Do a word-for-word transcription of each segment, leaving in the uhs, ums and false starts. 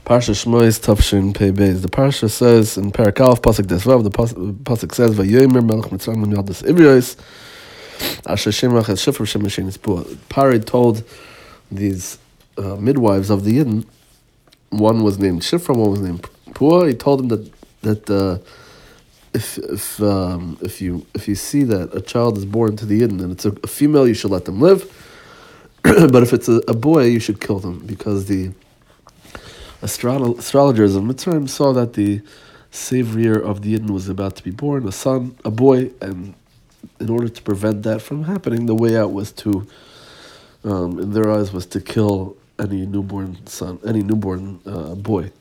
Parsha Shmois Tafshin Pei Beis. The Parsha says in Perek Aleph Pasuk Desvav, the Pasuk says, "Vayomer Melech Mitzrayim L'Yaldas Ivrios Asher Shemach Es Shifra Shem Hashem Yispua." Pari told these uh, midwives of the Yidden, one was named Shifra, one was named Pua. He told them that that uh, if if um, if you if you see that a child is born to the Yidden and it's a, a female, you should let them live. But if it's a, a boy, you should kill them, because the Astro- astrologers of Mitzrayim saw that the savior of the Yidden was about to be born, a son, a boy, and in order to prevent that from happening, the way out was to, um, in their eyes, was to kill any newborn son, any newborn uh, boy.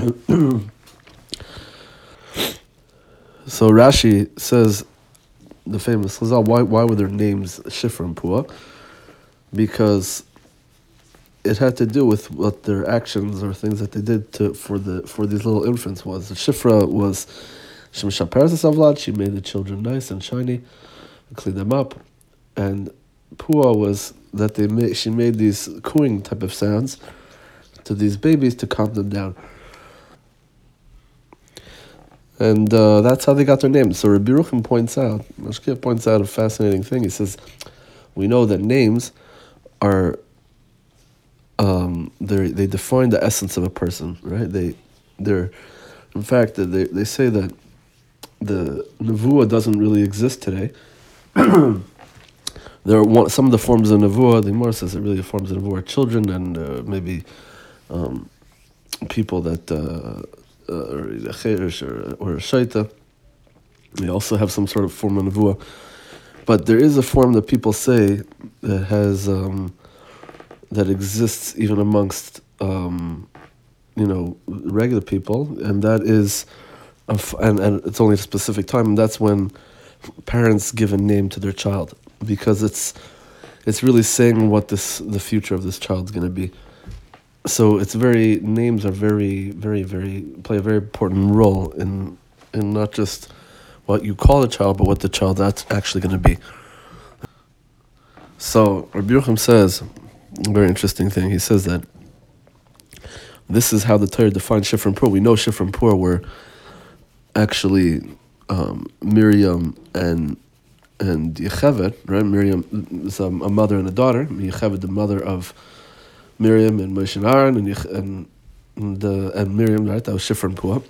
So Rashi says, the famous Chazal, why why were their names Shifra and Pua? Because it had to do with what their actions or things that they did to for the for these little infants was. The Shifra was Shemshaperes Savlad, she made the children nice and shiny, and cleaned them up, and Pua was that they made she made these cooing type of sounds to these babies to calm them down, and uh, that's how they got their names. So Rabbi Yerucham points out, Mashkiach points out a fascinating thing. He says, we know that names are Um, they they define the essence of a person, right? They, they're, in fact, they they say that the nevuah doesn't really exist today. There are one, some of the forms of nevuah. The Gemara says that really the forms of nevuah are children and uh, maybe um, people that uh, uh, or cherish or or a shaita. They also have some sort of form of nevuah, but there is a form that people say that has. Um, that exists even amongst, um, you know, regular people, and that is, a f- and, and it's only a specific time, and that's when parents give a name to their child, because it's it's really saying what this the future of this child is going to be. So it's very, names are very, very, very, play a very important role in in not just what you call a child, but what the child that's actually going to be. So Rabbi Yerucham says, a very interesting thing. He says that this is how the Torah defines Shifra and Pur. We know Shifra and Pur were actually um, Miriam and and Yocheved, right? Miriam is a, a mother and a daughter. Yocheved, the mother of Miriam and Moshe and Aaron, and and and, uh, and Miriam, right? That was Shifra and Pur.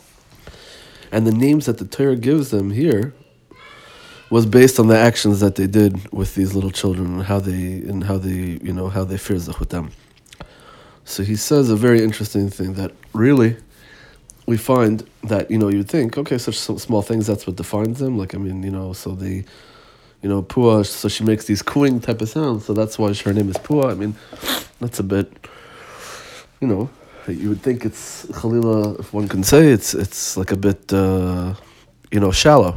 And the names that the Torah gives them here was based on the actions that they did with these little children and how they and how they you know how they firzach with them. So he says a very interesting thing, that really we find that, you know, you'd think, okay, such small things, that's what defines them. Like, I mean, you know, so they, you know, Pua, so she makes these cooing type of sounds, so that's why her name is Pua. I mean, that's a bit, you know, you would think it's Chalila, if one can say, it's it's like a bit, uh, you know, shallow.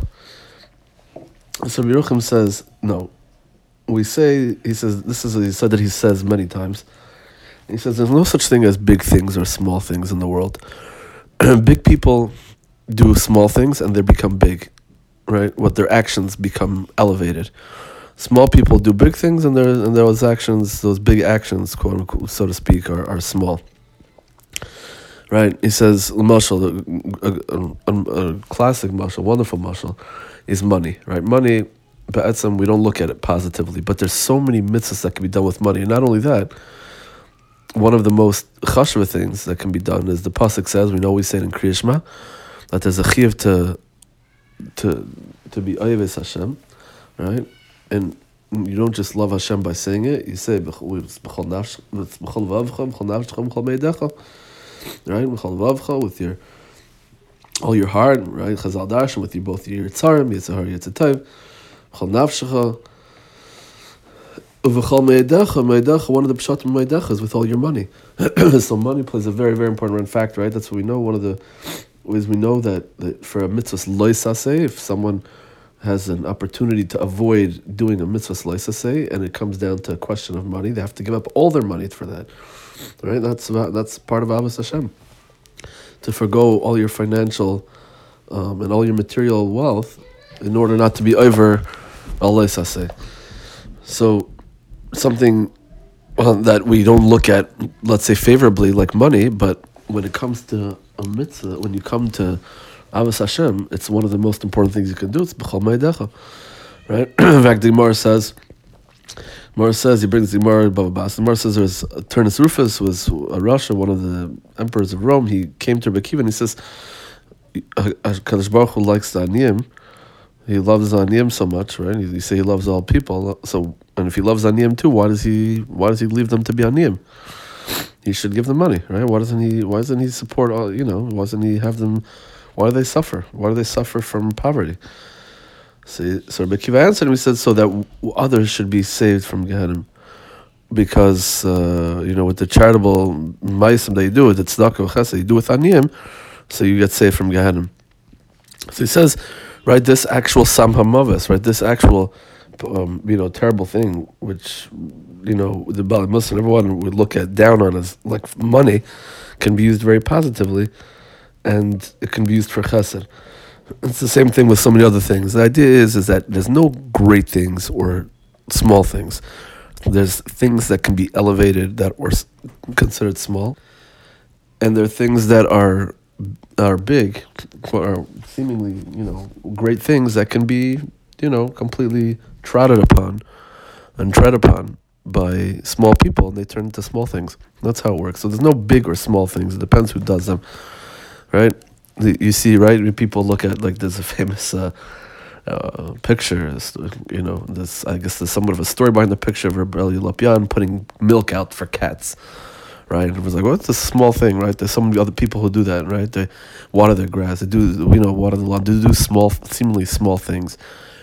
So Yerucham says, no. We say, he says, this is he said that he says many times. He says there's no such thing as big things or small things in the world. Big people do small things and they become big, right? What their actions become elevated. Small people do big things and, and those actions, those big actions, quote unquote, so to speak, are, are small. Right? He says, mashal, a, a, a, a classic mashal, wonderful mashal, is money, right? Money, ba'etzem, we don't look at it positively, but there's so many mitzvahs that can be done with money. And not only that, one of the most chashva things that can be done is the pasuk says, we know we say it in Kriya Shema, that there's a chiyuv to to to be oyeves Hashem, right? And you don't just love Hashem by saying it. You say b'chol nafshcha, b'chol vavcha, b'chol nafshcha, b'chol meidecha, right? B'chol vavcha, with your all your heart, right? Chazal darshan, with your both your yitzarim, yitzhar, yitzatayv, b'chol nafshcha. V'chol meidecha, meidecha, one of the pshatim meidecha is with all your money. So money plays a very, very important factor, right? That's what we know. One of the ways we know that, that for a mitzvah loisaseh, if someone has an opportunity to avoid doing a mitzvah loisaseh, and it comes down to a question of money, they have to give up all their money for that, right? That's about, that's part of Avos Hashem, to forgo all your financial um, and all your material wealth in order not to be over a loisaseh. So something uh, that we don't look at, let's say, favorably, like money, but when it comes to a mitzvah, when you come to Avos Hashem, it's one of the most important things you can do. It's b'chol ma'adecha, right? In fact, the Gemara says, Gemara says, he brings the Gemara, Baba Bas. The Gemara says there's Turnus Rufus was a Russia, one of the emperors of Rome. He came to Rebbe Akiva and he says, Kadosh Baruch Hu likes the Aniyim. He loves the Aniyim so much, right? You say he loves all people. So, and if he loves Aniyim too, why does he why does he leave them to be Aniyim? He should give them money, right? Why doesn't he? Why doesn't he support all? You know, why doesn't he have them? Why do they suffer? Why do they suffer from poverty? See, so Rebbe Akiva answered him. He said, so that others should be saved from Gehenna, because uh, you know, with the charitable ma'asim that you do, with the tzedakah chesed you do with Aniyim, so you get saved from Gehenna. So he says, right, this actual samha mavis, right, this actual, um, you know, terrible thing, which, you know, the Bali Muslim, everyone would look at down on as like money, can be used very positively, and it can be used for chesed. It's the same thing with so many other things. The idea is, is that there's no great things or small things. There's things that can be elevated that were considered small, and there are things that are are big, or seemingly, you know, great things that can be, you know, completely trodden upon and tread upon by small people, and they turn into small things. That's how it works. So there's no big or small things. It depends who does them, right? You see, right, when people look at, like, there's a famous uh, uh, picture, you know, this, I guess there's somewhat of a story behind the picture of Rebbe Eli Lopian putting milk out for cats. Right, and it was like, well, it's a small thing, right? There's some other people who do that, right? They water their grass, they do, you know, water the lawn, they do small, seemingly small things.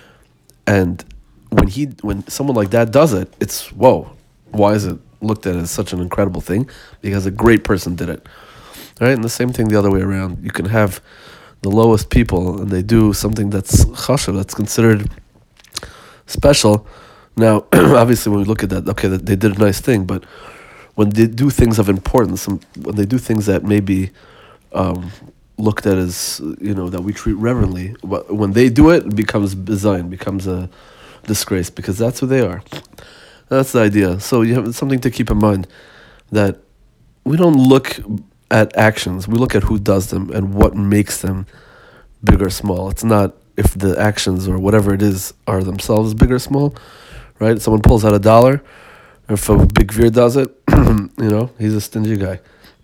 And when he, when someone like that does it, it's, whoa, why is it looked at as such an incredible thing? Because a great person did it, right? And the same thing the other way around. You can have the lowest people, and they do something that's chashuv, that's considered special. Now, obviously, when we look at that, okay, they did a nice thing, but when they do things of importance, and when they do things that may be um, looked at as, you know, that we treat reverently, when they do it, it becomes bizayin, becomes a disgrace, because that's who they are. That's the idea. So you have something to keep in mind, that we don't look at actions, we look at who does them and what makes them big or small. It's not if the actions or whatever it is are themselves big or small, right? Someone pulls out a dollar, if a big veer does it, you know, he's a stingy guy.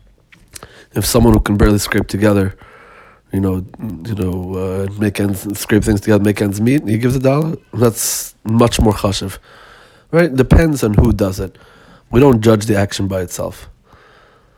If someone who can barely scrape together, you know, you know, uh, make ends, scrape things together, make ends meet, he gives a dollar, that's much more chashuv, right? Depends on who does it. We don't judge the action by itself.